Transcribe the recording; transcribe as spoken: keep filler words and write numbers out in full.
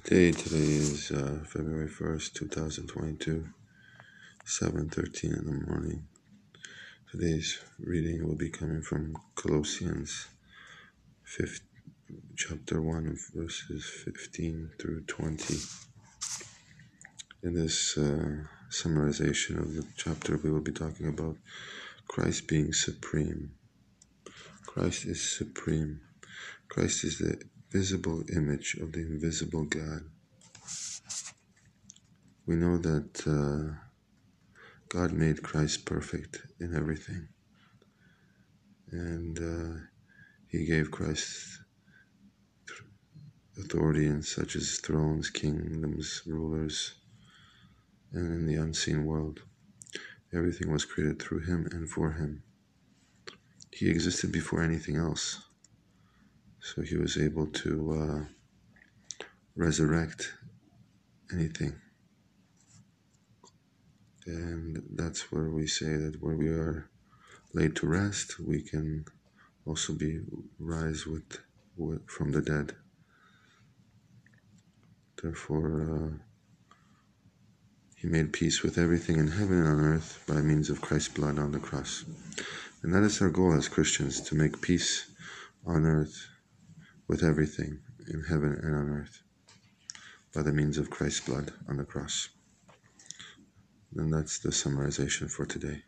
Day today is uh, February first, two thousand twenty-two, seven thirteen in the morning. Today's reading will be coming from Colossians fifth, chapter one, verses fifteen through twenty. In this uh, summarization of the chapter, we will be talking about Christ being supreme. Christ is supreme. Christ is the visible image of the invisible God. We know that uh, God made Christ perfect in everything, and uh, He gave Christ authority in such as thrones, kingdoms, rulers, and in the unseen world. Everything was created through Him and for Him. He existed before anything else, so He was able to uh, resurrect anything. And that's where we say that where we are laid to rest, we can also be rise with, with from the dead. Therefore, uh, He made peace with everything in heaven and on earth by means of Christ's blood on the cross. And that is our goal as Christians, to make peace on earth with everything in heaven and on earth by the means of Christ's blood on the cross. And that's the summarization for today.